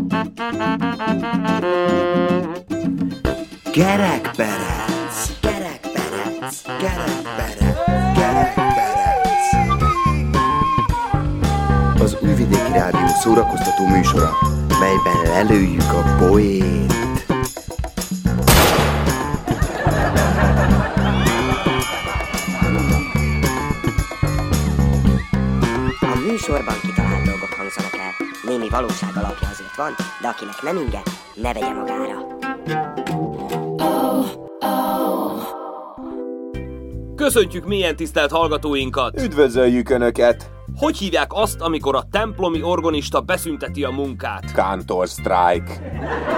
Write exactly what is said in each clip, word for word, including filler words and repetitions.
Kerekperec, kerekperec, kerekperec, kerekperec. Az Újvidéki Rádió szórakoztató műsora, melyben lelőjük a poént. A műsorban kitalált dolgok hangzanak el. Némi valóság alapja azért van, de akinek nem inge, ne vegye magára. Köszöntjük mélyen tisztelt hallgatóinkat! Üdvözöljük Önöket! Hogy hívják azt, amikor a templomi orgonista beszünteti a munkát? Kantor strike.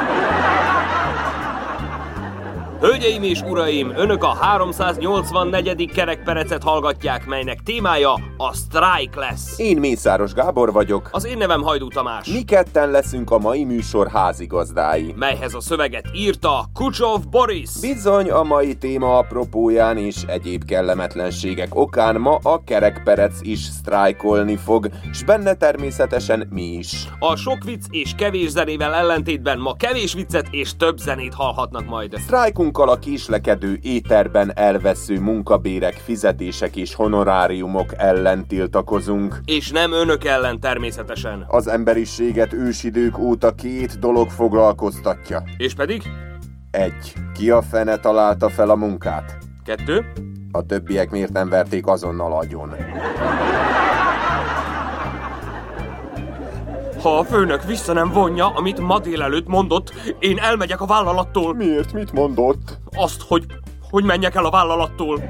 Hölgyeim és uraim, Önök a háromszáznyolcvannegyedik kerekperecet hallgatják, melynek témája a strike lesz. Én Mészáros Gábor vagyok. Az én nevem Hajdú Tamás. Mi ketten leszünk a mai műsor házigazdái. Melyhez a szöveget írta Kucsov Boris. Bizony, a mai téma apropóján és egyéb kellemetlenségek okán ma a kerekperec is sztrájkolni fog, s benne természetesen mi is. A sok vicc és kevés zenével ellentétben ma kevés viccet és több zenét hallhatnak majd. Sztrájkunk a késlekedő éterben elvesző munkabérek, fizetések és honoráriumok ellen tiltakozunk. És nem önök ellen természetesen. Az emberiséget ősidők óta két dolog foglalkoztatja. És pedig? Egy. Ki a fene találta fel a munkát? Kettő. A többiek miért nem verték azonnal agyon? Ha a főnök vissza nem vonja, amit ma délelőtt mondott, én elmegyek a vállalattól. Miért? Mit mondott? Azt, hogy, hogy menjek el a vállalattól.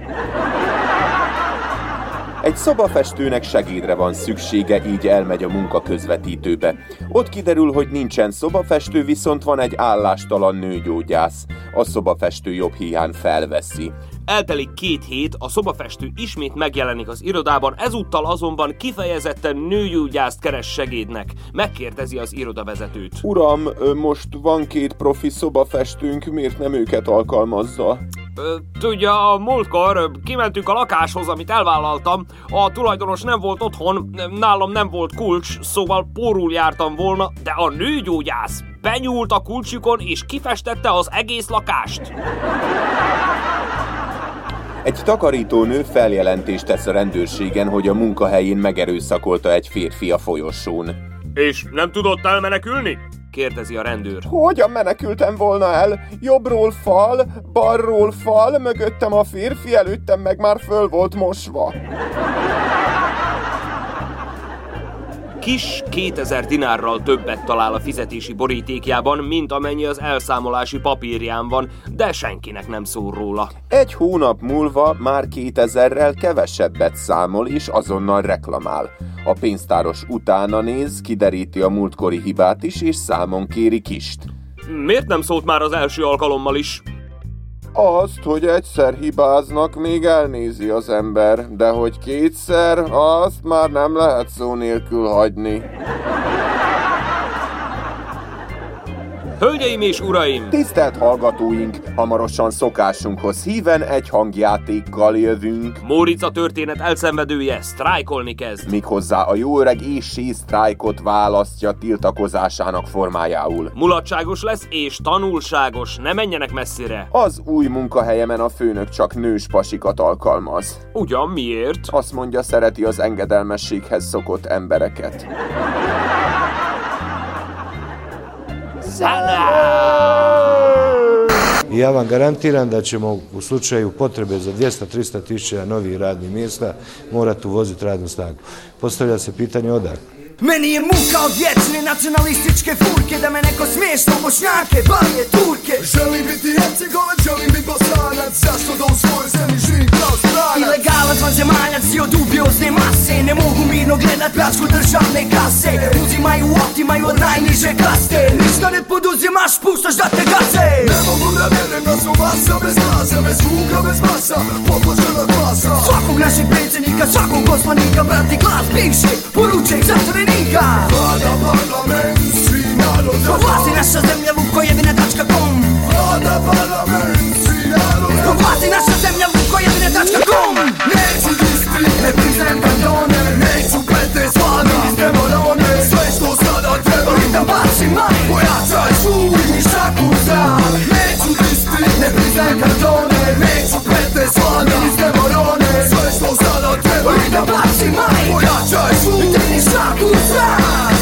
Egy szobafestőnek segédre van szüksége, így elmegy a munkaközvetítőbe. Ott kiderül, hogy nincsen szobafestő, viszont van egy állástalan nőgyógyász. A szobafestő jobb hiány felveszi. Eltelik két hét, a szobafestő ismét megjelenik az irodában, ezúttal azonban kifejezetten nőgyógyászt keres segédnek. Megkérdezi az irodavezetőt. Uram, most van két profi szobafestőnk, miért nem őket alkalmazza? Tudja, a múltkor kimentünk a lakáshoz, amit elvállaltam, a tulajdonos nem volt otthon, nálam nem volt kulcs, szóval pórul jártam volna, de a nőgyógyász benyúlt a kulcsukon és kifestette az egész lakást. Egy takarítónő feljelentést tesz a rendőrségen, hogy a munkahelyén megerőszakolta egy férfi a folyosón. És nem tudott elmenekülni? Kérdezi a rendőr. Hogyan menekültem volna el? Jobbról fal, balról fal, mögöttem a férfi, előttem meg már föl volt mosva. Kis kétezer dinárral többet talál a fizetési borítékjában, mint amennyi az elszámolási papírján van, de senkinek nem szól róla. Egy hónap múlva már kétezerrel kevesebbet számol és azonnal reklamál. A pénztáros utána néz, kideríti a múltkori hibát is, és számon kéri Kist. Miért nem szólt már az első alkalommal is? Azt, hogy egyszer hibáznak, még elnézi az ember, de hogy kétszer, azt már nem lehet szó nélkül hagyni. Hölgyeim és uraim! Tisztelt hallgatóink! Hamarosan szokásunkhoz híven egy hangjátékkal jövünk. Mórica történet elszenvedője sztrájkolni kezd. Méghozzá a jó öreg éssé sztrájkot választja tiltakozásának formájául. Mulatságos lesz és tanulságos, ne menjenek messzire. Az új munkahelyemen a főnök csak nős pasikat alkalmaz. Ugyan miért? Azt mondja, szereti az engedelmességhez szokott embereket. I ja vam garantiram da ćemo u slučaju potrebe za dvjesto do trista tisuća novih radnih mjesta morati uvoziti radnu snagu. Postavlja se pitanje odakle. Meni je muka od vječne nacionalističke furke, da me neko smiješno Bošnjake, Balije, Turke. Želim biti Hercegovac, želim biti Bosanac, zašto da u svojoj zemlji živim kao stranac? Ilegalac, vanzemaljac i od dubiozne mase, ne mogu mirno gledat pljačku državne kase. Uzimaju, otimaju od najniže kaste, ništa ne poduzimaš, puštaš da te gaze. Ne mogu da vjerujem da su masa bez glasa, bez zvuka, bez masa, podložena glasa. Svakog našeg predsjednika, svakog poslanika, brati glas bivšeg, poručeg zatvorenika. Vlada parlament, svi narod za vlasi naša zemlja vukojedine tačka com. Vlada parlament, svi narod za vlasi naša zemlja vukojedine tačka com. Neću displi, ne priznajem kantone, neću pete svane iz demorone. Sve što sada treba, da bacim maj, treba i da baci maj. Pojačaj zvuk, digni šaku u zrak.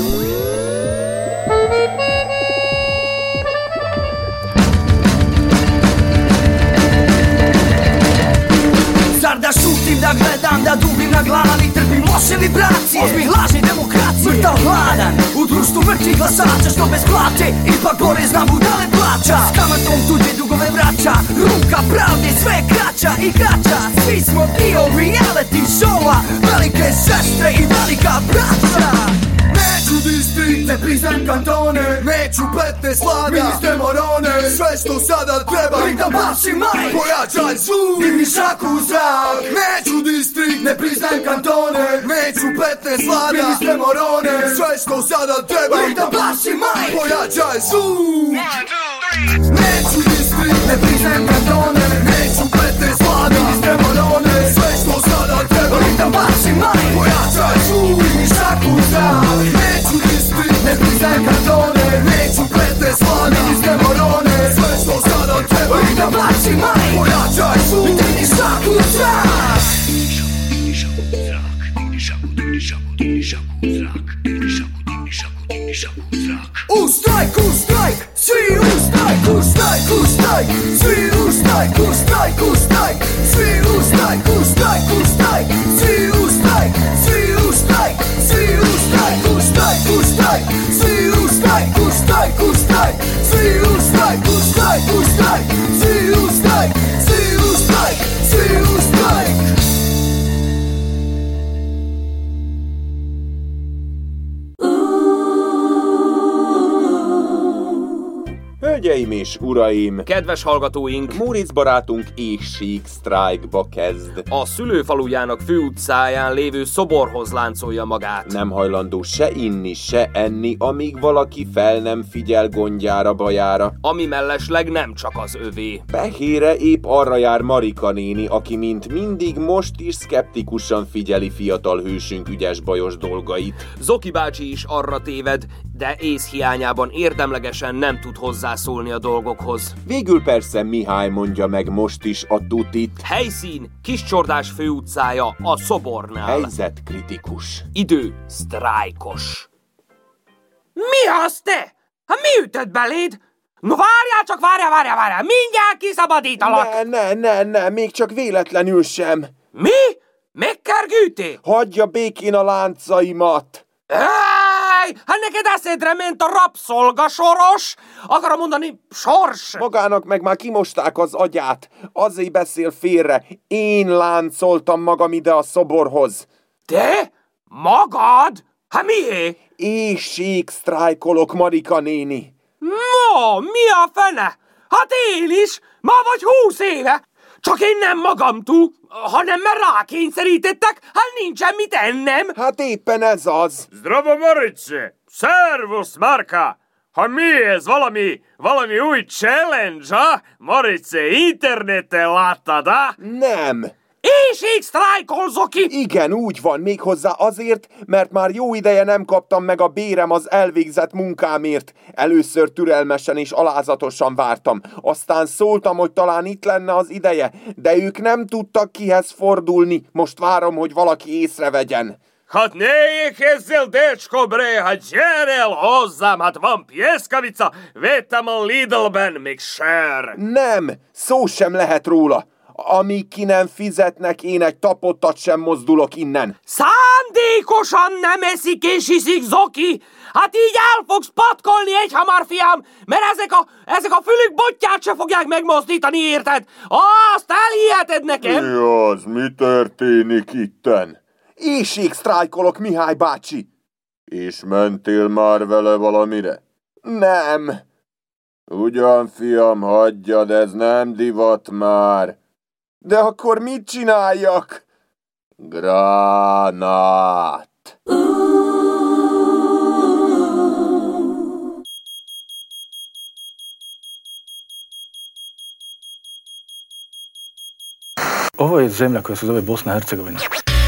Zar da šutim, da gledam, da dubim na glavi, trpim loše vibracije, ozbih lažni demokracije. Mrtav hladan, u društvu mrtvih glasača, što bez plate, ipak porez na budale plaća. S kamatom tuđe dugove vraća, ruka pravde sve je kraća i kraća. Svi smo dio reality showa, velike sestre i velika braća. Neću distrikt, ne priznajem kantone, neću petnaest vlada, ministre morone. Sve što sada treba i da baci maj. Pojačaj zvuk, digni šaku u zrak. Neću distrikt, ne priznajem kantone, neću petnaest vlada, ministre morone. Sve što sada treba i da baci maj. Pojačaj zvuk. Neću distrikt, ne priznajem kantone, neću petnaest vlada, ministre morone. Sve što sada treba i da baci maj. Pojačaj zvuk, digni šaku u zrak. Neću distrikt, ne priznajem kantone, neću petnaest vlada, ministre morone. Sve što sada treba i da baci maj. Pojačaj zvuk, digni šaku u zrak. Digni šaku u zrak, digni šaku, digni šaku, digni šaku u zrak. Digni šaku, digni šaku, digni šaku u zrak. U strajk, u strajk, svi u strajk, u strajk, u strajk. Svi u strajk, u strajk, u strajk. Svi u strajk, u strajk, u strajk. Svi u strajk, svi u strajk. Svi u strajk, u strajk, u strajk. Svi u strajk, u strajk, u strajk. Svi u strajk, u strajk, u strajk. Svi u strajk, svi u strajk, svi u strajk. Hölgyeim és uraim! Kedves hallgatóink! Móricz barátunk éhség sztrájkba kezd. A szülőfalujának főutcáján lévő szoborhoz láncolja magát. Nem hajlandó se inni, se enni, amíg valaki fel nem figyel gondjára, bajára. Ami mellesleg nem csak az övé. Pehére épp arra jár Marika néni, aki mint mindig most is szkeptikusan figyeli fiatal hősünk ügyes bajos dolgait. Zoki bácsi is arra téved, de ész hiányában érdemlegesen nem tud hozzászólni a dolgokhoz. Végül persze Mihály mondja meg most is a tutit. Helyszín Kiscsordás főutcája a szobornál. Helyzet kritikus. Idő sztrájkos. Mi az te? Hát mi ütött beléd? No várjál csak, várjál, várjál, várjál, mindjárt kiszabadítalak! Ne, ne, ne, ne, még csak véletlenül sem. Mi? Megkergültél? Hagyja békén a láncaimat! Ej, hát neked eszedre ment a rabszolgasoros? Akarom mondani, sors! Magának meg már kimosták az agyát. Azért beszél félre. Én láncoltam magam ide a szoborhoz. Te? Magad? Hát mié? Éhség sztrájkolok, Marika néni. Ma, mi a fene? Hát én is, ma vagy húsz éve. Csak én nem magamtól, hanem mert rákényszerítettek, hát nincsen mit ennem. Hát éppen ez az. Zdravo, Morice! Szervusz, Marka! Ha mi ez, valami, valami új challenge, ha? Morice, interneten láttad, ha? Nem. Éhség sztrájkol, Zoki! Igen, úgy van, méghozzá azért, mert már jó ideje nem kaptam meg a bérem az elvégzett munkámért. Először türelmesen és alázatosan vártam. Aztán szóltam, hogy talán itt lenne az ideje, de ők nem tudtak kihez fordulni. Most várom, hogy valaki észrevegyen. Hát ne éhezzel, decsko, bre, hát gyere el hozzám, hát van pieskavica, vettem a Lidlben, még sör. Nem, szó sem lehet róla. Amíg ki nem fizetnek, én egy tapottat sem mozdulok innen. Szándékosan nem eszik és iszik, Zoki! Hát így el fogsz patkolni egyhamar, fiam, mert ezek a, ezek a fülük botját se fogják megmozdítani, érted? Azt elhiheted nekem! Mi az? Mi történik itten? Éhség sztrájkolok, Mihály bácsi. És mentél már vele valamire? Nem. Ugyan, fiam, hagyjad, ez nem divat már. De akkor mit csináljak? Gránát! Ovo je zemlja koja se zove Bosna i Hercegovina.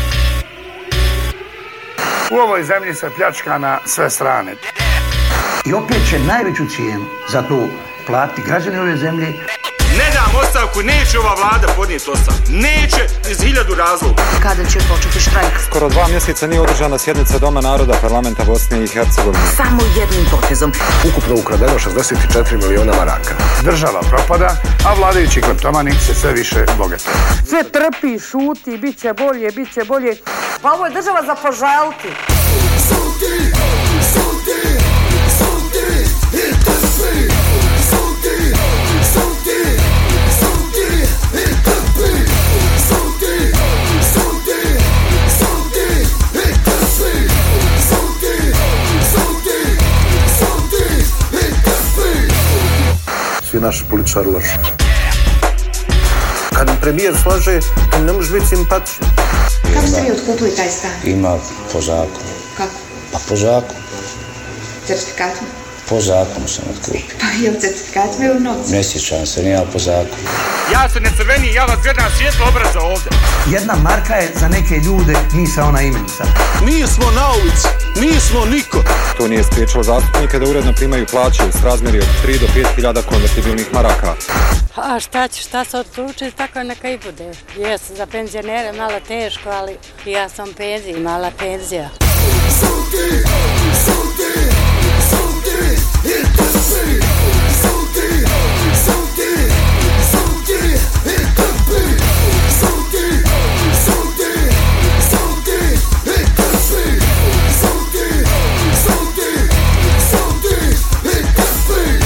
U ovoj zemlji se pljačka na sve strane. I opet će najveću cijenu za to platiti građani ove zemlje. Ne dam ostavku, neće ova vlada podnijeti ostavku. Neće iz hiljadu razloga. Kada će početi štrajk? Skoro dva mjeseca nije održana sjednica Doma naroda parlamenta Bosne i Hercegovine. Samo jednim potezom. Ukupno ukradeno šezdeset četiri miliona maraka. Država propada, a vladajući kleptomani se sve više bogate. Sve trpi, šuti, bit će bolje, bit će bolje. Pa ovo je država za požaliti. Šuti, šuti, šuti, i trpi. Šuti, šuti, šuti, i trpi. Šuti, šuti, šuti, i trpi. Šuti, šuti, šuti, i trpi. Svi naši političari loši. Kad premijer slaže, on ne može biti simpatičan. Kako ste vi otkupili taj stan? Ima po zakonu. Kako? Pa po zakonu. Certifikatom? Po zakonu sam otkupio. Pa je li certifikatom ili u novcu? Ne sjećam se, nije po zakonu. Ja se ne crveni, ja vas gledam svijetlo obraza ovdje. Jedna marka je za neke ljude misaona imenica. Nismo na ulici, nismo niko. To nije spriječilo zastupnike da uredno primaju plaće s razmjeri od tri do pet hiljada konvertibilnih maraka. A šta će, šta se odlučiti, tako neka i bude. Jes, za penzionere malo teško, ali ja sam penzija, mala penzija. Šuti, šuti, šuti, i trpi. Šuti, šuti, šuti, i trpi. Šuti, šuti, šuti, i trpi. Šuti, šuti, šuti, i trpi.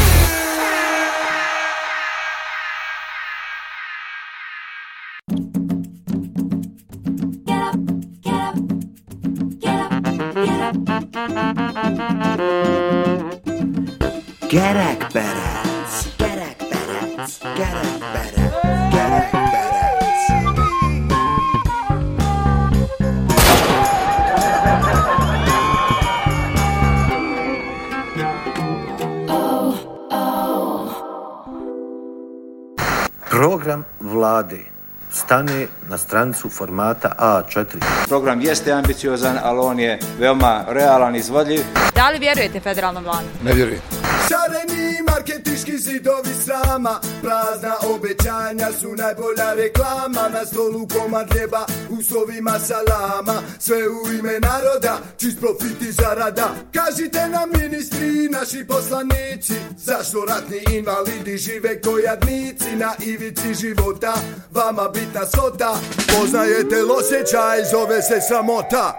Gerekberec, gerekberec, gerekberec, gerekberec. Program vlade stane na stranicu formata A četiri. Program jeste ambiciozan, ali on je veoma realan i izvodljiv. Da li vjerujete federalnom vladu? Ne vjerujem. Šareni marketinški zidovi srama, prazna obećanja su najbolja reklama. Na stolu komad hljeba, u sovima salama, sve u ime naroda, čist profit i zarada. Kažite nam ministri, naši poslanici, zašto ratni invalidi žive ko jadnici na ivici života. Vama bitna svota, poznajete osjećaj, zove se sramota.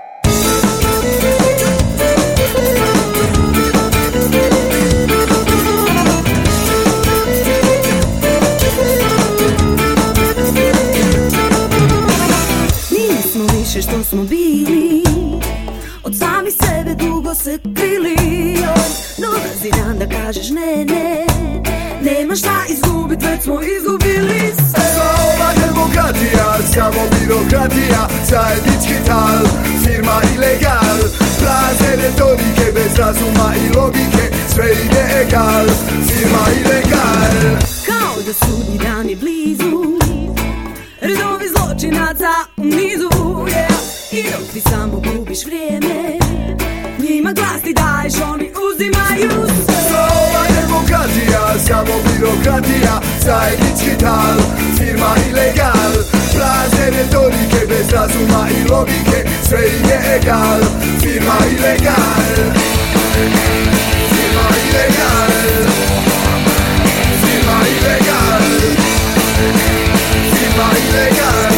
Nismo više što smo bili, od sami sebe dugo se krili. Dolazi dan da kažeš ne, ne, nema šta izgubit, već smo izgubili sve. Ova demokratija, samo birokratija, zajednički tal, firma ilegal. Prazne retorike bez razuma i logike, sve ide egal, firma ilegal. Kao da sudnji dan je blizu, redovi zločinaca u nizu, yeah. I dok ti samo gubiš vrijeme, njima glas ti daješ, oni uzimaju sve. Ova demokratija, samo birokratija, zajednički tal, firma ilegal. Prazne retorike bez razuma i logike, sve ide egal, firma ilegal. Firma ilegal. Firma ilegal. Firma ilegal.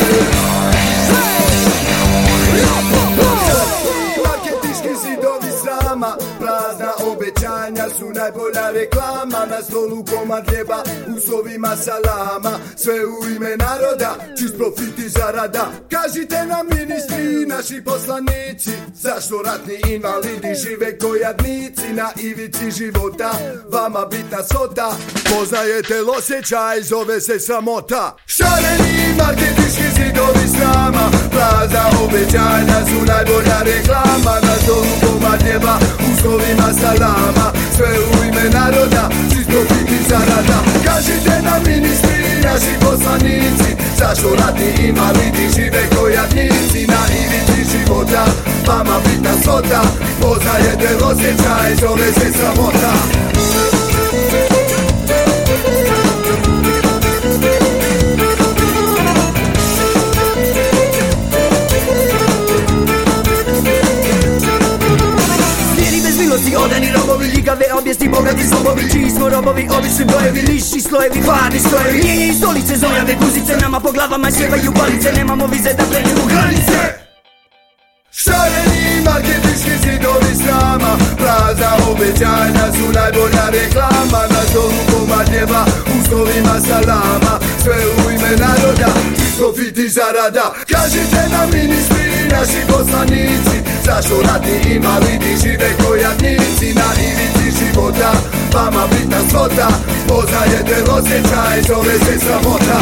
Marketinški zidovi srama, prazna obećanja su najbolja reklama. Na stolu komad hljeba, u sovima salama, sve u ime naroda, čist profit i zarada. Kažite nam ministri, naši poslanici, zašto ratni invalidi žive ko jadnici na ivici života. Vama bitna svota, poznajete osjećaj, zove se sramota. Šareni marketinški zidovi srama, prazna obećanja su najbolja reklama. Na stolu komad hljeba, u sovima salama, sve u ime naroda, čist profit i zarada. Kažite nam ministri, naši poslanici, zašto ratni invalidi žive ko jadnici na ivici života. Vama bitna svota, poznajete osjećaj, zove se sramota. robovi, čiji smo robovi, ovi su brojevi, niši slojevi, hladni slojevi. Mijenjaju stolice, zojave, guzice, nama po glavama sjevaju palice, nemamo vize da pređemo granice. Šareni marketinški zidovi srama, prazna obećanja su najbolja reklama. Na stolu komad neba, u slovima salama, sve u ime naroda, profit i zarada. Kažite nam ministri i naši poslanici, zašto ratni invalidi žive ko jadnici na ivici života. Vama bitna svota, poznajete osjećaj, zove se sramota.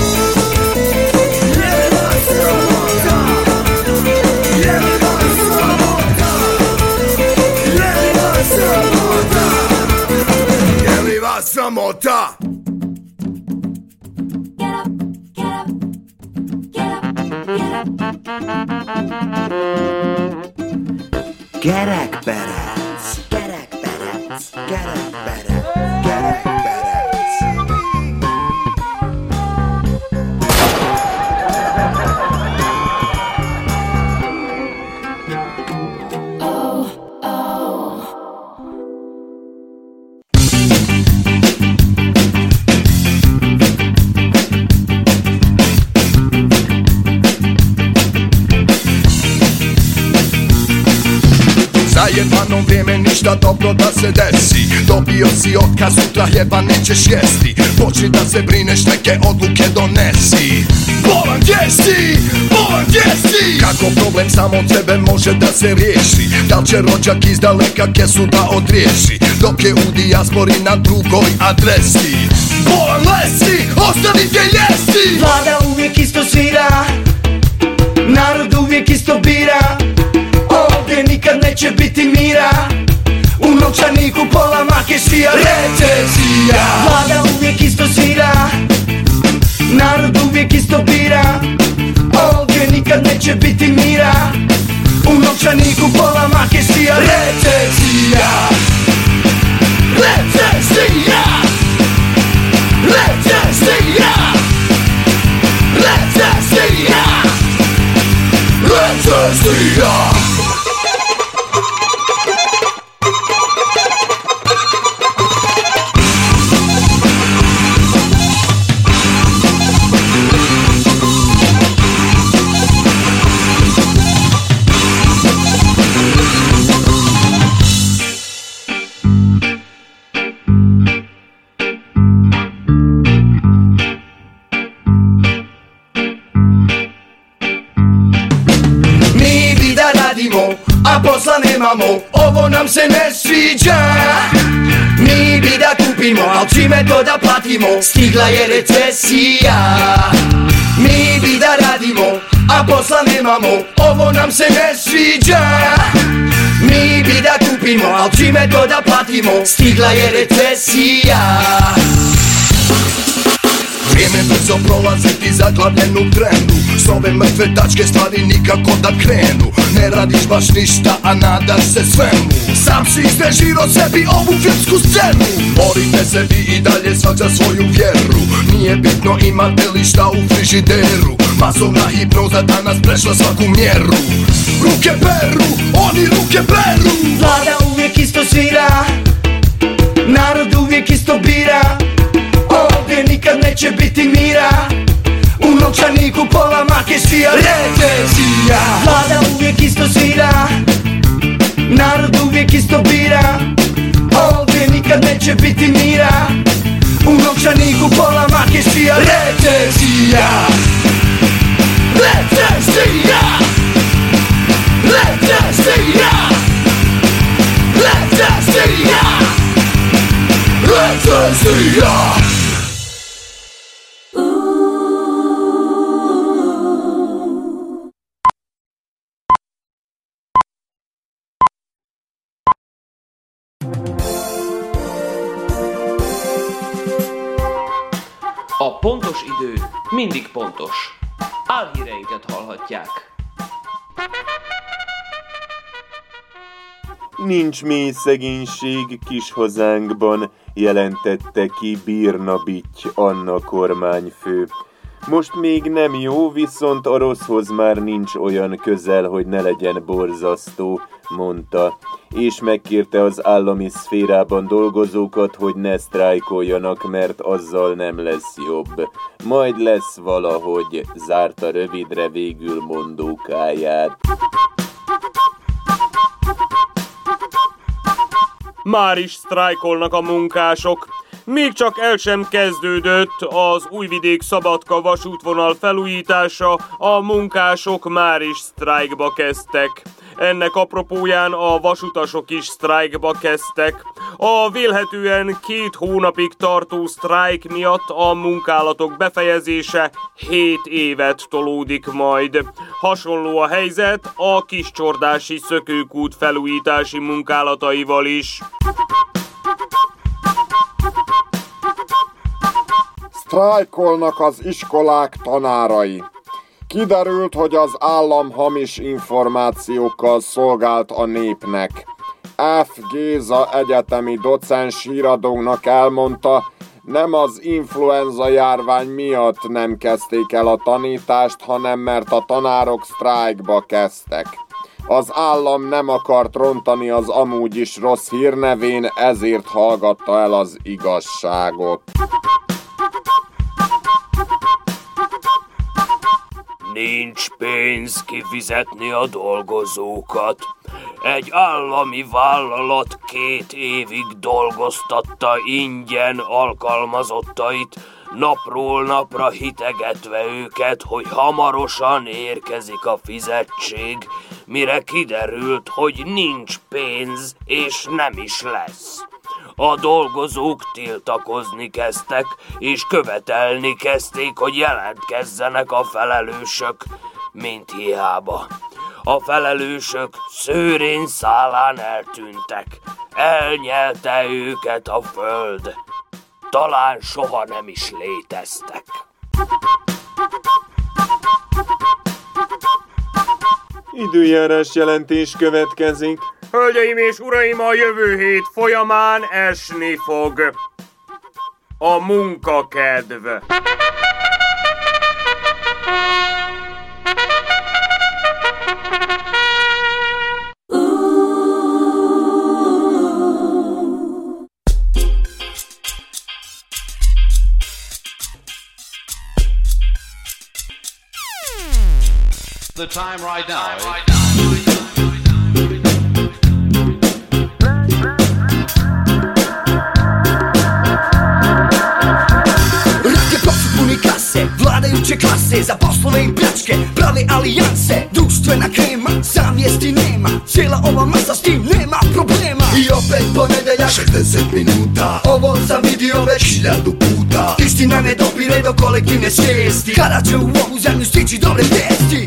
Je li vas sramota? Kerekperec, kerekperec, kerekperec, kerekperec. Oh, oh. Zajebano vrijeme, ništa dobro da se desi. Dobio si otkaz, sutra jeba nećeš jesti. Počni da se brineš, neke odluke donesi. Bolan gdje si? Bolan gdje si? Kako problem samo od tebe može da se riješi? Da li će rođak iz daleka kesu da odriješi, dok je u dijaspori na drugoj adresi? Bolan lesi, ostavi gdje jesi. Vlada uvijek isto svira, narod uvijek isto bira. Ovdje nikad neće biti mira, u novčaniku pola makešija. Recesija. Vlada uvijek isto svira, narod uvijek isto bira. Ovdje nikad neće biti mira, u novčaniku pola makešija. Recesija. Recesija. Recesija. Recesija. Recesija. A posla nemamo, ovo nam se ne sviđa. Mi bi da kupimo, al čime to da platimo? Stigla je recesija. Mi bi da radimo, a posla nemamo, ovo nam se ne sviđa. Mi bi da kupimo, al čime to da platimo? Stigla je recesija. Vrijeme brzo prolazi, ti zaglavljen u trenu. S ove mrtve tačke stvari nikako da krenu. Ne radiš baš ništa, a nadaš se svemu. Sam si izrežirao sebi ovu filmsku scenu. Borite se vi i dalje svak za svoju vjeru. Nije bitno imate li šta u frižideru. Masovna hipnoza danas prešla svaku mjeru. Ruke peru, oni ruke peru. Vlada uvijek isto svira, narod uvijek isto bira. Ovdje nikad neće biti mira, u novčaniku pola makešija. Recesija. Vlada uvijek isto svira, narod uvijek isto bira. Ovdje nikad neće biti mira, u novčaniku pola makešija. Recesija. Recesija. Recesija. Recesija. Recesija. A pontos idő mindig pontos. Álhíreinket hallhatják. Nincs mély szegénység kis hazánkban, jelentette ki Birna Bitty Anna kormányfő. Most még nem jó, viszont a rosszhoz már nincs olyan közel, hogy ne legyen borzasztó, mondta, és megkérte az állami szférában dolgozókat, hogy ne sztrájkoljanak, mert azzal nem lesz jobb. Majd lesz valahogy, zárta rövidre végül mondókáját. Már is sztrájkolnak a munkások. Még csak el sem kezdődött az Újvidék-Szabadka vasútvonal felújítása, a munkások már is sztrájkba kezdtek. Ennek apropóján a vasutasok is sztrájkba kezdtek. A vélhetően két hónapig tartó sztrájk miatt a munkálatok befejezése hét évet tolódik majd. Hasonló a helyzet a Kiscsordási szökőkút felújítási munkálataival is. Sztrájkolnak az iskolák tanárai. Kiderült, hogy az állam hamis információkkal szolgált a népnek. F. Géza egyetemi docens híradónak elmondta, nem az influenza járvány miatt nem kezdték el a tanítást, hanem mert a tanárok sztrájkba kezdtek. Az állam nem akart rontani az amúgy is rossz hírnevén, ezért hallgatta el az igazságot. Nincs pénz kifizetni a dolgozókat. Egy állami vállalat két évig dolgoztatta ingyen alkalmazottait, napról napra hitegetve őket, hogy hamarosan érkezik a fizetség, mire kiderült, hogy nincs pénz, és nem is lesz. A dolgozók tiltakozni kezdtek, és követelni kezdték, hogy jelentkezzenek a felelősök, mint hiába. A felelősök szőrén szálán eltűntek, elnyelte őket a föld. Talán soha nem is léteztek. Időjárás jelentés következik. Hölgyeim és uraim, a jövő hét folyamán esni fog. A munkakedv. The time right now is... Vladajuće klase, za poslove i pljačke prave alijanse, društvena krema, savjesti nema, cijela ova masa s tim nema problema. I opet ponedeljak, šezdeset minuta, ovo sam vidio već hiljadu puta. Istina ne dopire do kolektivne svijesti, kada će u ovu zemlju stići dobre vijesti.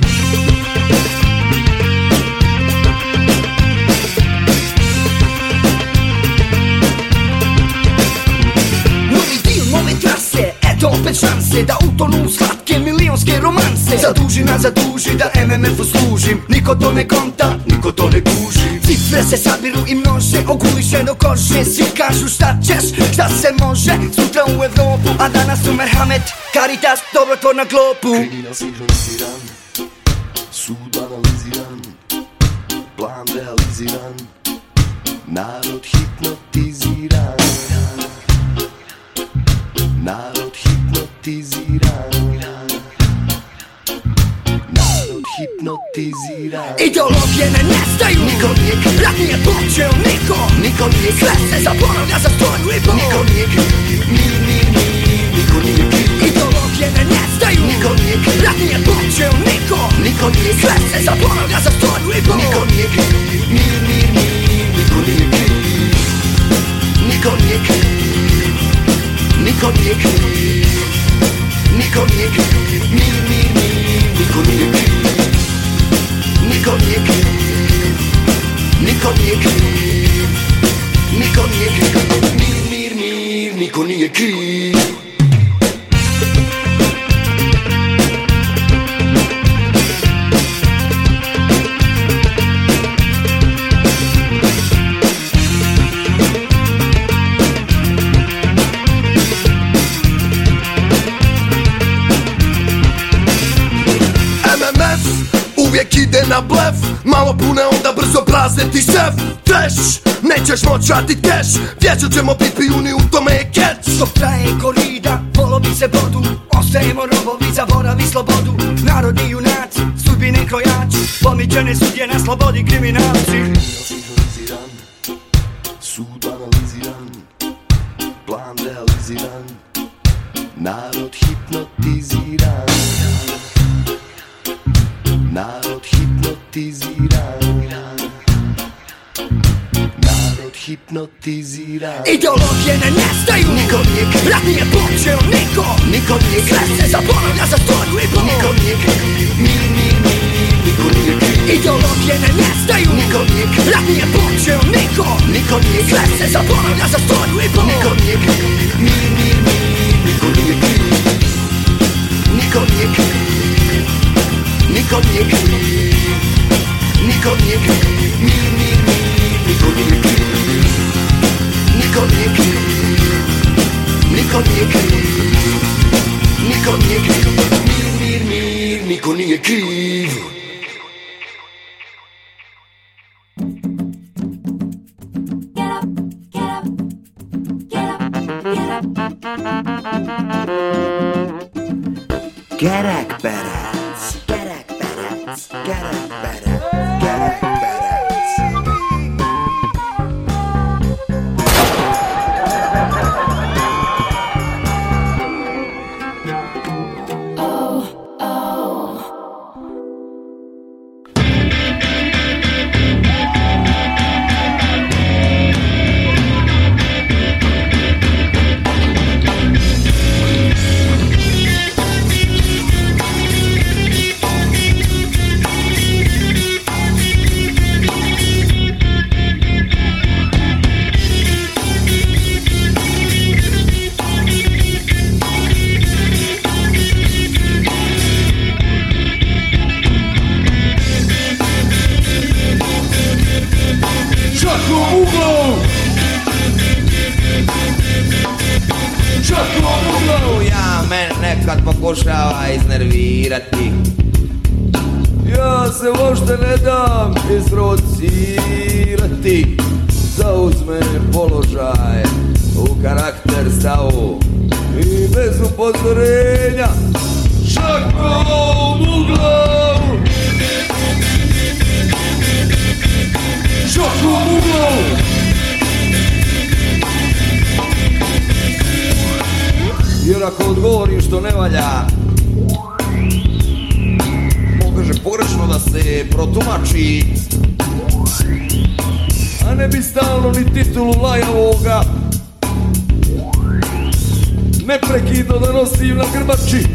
Novi dio nove trase, eto opet šanse da utonu u slatke milionske romanse. Zaduži nas zaduži da M M F-u služim, niko to ne konta, niko to ne kuži. Cifre se sabiru i množe, oguliše do kože. Svi kažu šta ćeš, šta se može, sutra u Evropu, a danas u Merhamet, Caritas, dobrotvor na globu. Kriminal sinhroniziran, sud analiziran, plan realiziran, narod hipnotiziran. Narod hipnotiziran. Narod hipnotiziran. Ideologije ne nestaju, niko nije kriv. Rat nije počeo, niko, niko nije kriv. Sve se zaboravlja za stoju i pol. Niko nije kriv, mir, mir, mir, niko nije kriv. Ideologije ne nestaju, niko nije kriv. Rat nije počeo, niko, niko nije kriv. Sve se zaboravlja za stoju i pol. Niko nije kriv, mir, mir, mir, niko nije kriv. Niko nije kriv. Niko nije kriv, niko nije kriv, mir, mir, mir, niko nije kriv. Niko nije kriv, niko nije kriv, niko nije kriv, mir, mir, mir, niko nije kriv. malo pune onda brzo prazne ti šef. Treš, nećeš moć vratit keš, vječer ćemo pit pijuni, u tome je catch. Dok traje korida, polovi se bodu, ostajemo robovi, zaboravi slobodu. Narodni junaci, sudbine krojači, pomičene sudje na slobodi kriminalci. Sinhroniziran, sud analiziran, plan realiziran, narod hipnotiziran, narod hipnotiziran, narod hipnotiziran. Ideologije ne nestaju, niko nije kriv, rat nije počeo niko, niko nije kriv, sve se zaboravlja za stoju i pol, niko nije kriv, mir, mir, mir, niko nije kriv. Ideologije ne nestaju, niko nije kriv, rat nije počeo niko, niko nije kriv, sve se zaboravlja za stoju i pol, niko nije kriv, mir, mir, mir, niko nije kriv, niko nije kriv, niko nije kriv, niko nije kriv, mir, mir, mir, niko nije kriv, niko nije kriv, niko nije kriv, niko nije kriv, mir, mir, mir, niko nije kriv. Kerekperec, kerekperec, kerekperec, kerekperec. Oh, oh. Nekad pokušava iznervirati, ja se uopšte ne dam isprovocirati. Zauzme položaj u karakter stavu i bez upozorenja šakom u glavu, šakom u glavu. Jer ako odgovorim što ne valja, može pogrešno da se protumači, a ne bi stalno ni titulu lajavoga neprekidno da nosim na grbači.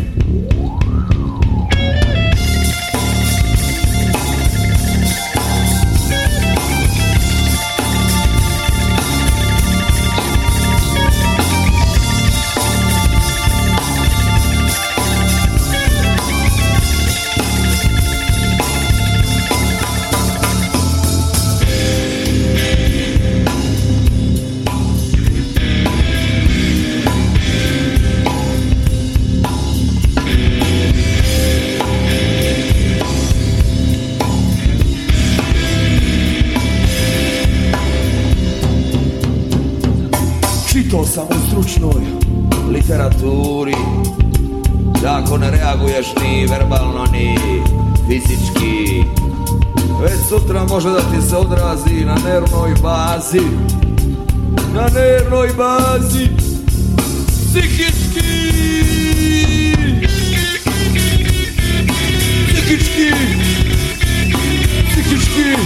Čitao sam u stručnoj literaturi da ako ne reaguješ ni verbalno ni fizički, već sutra može da ti se odrazi na nervnoj bazi, na nervnoj bazi, psihički, psihički, psihički.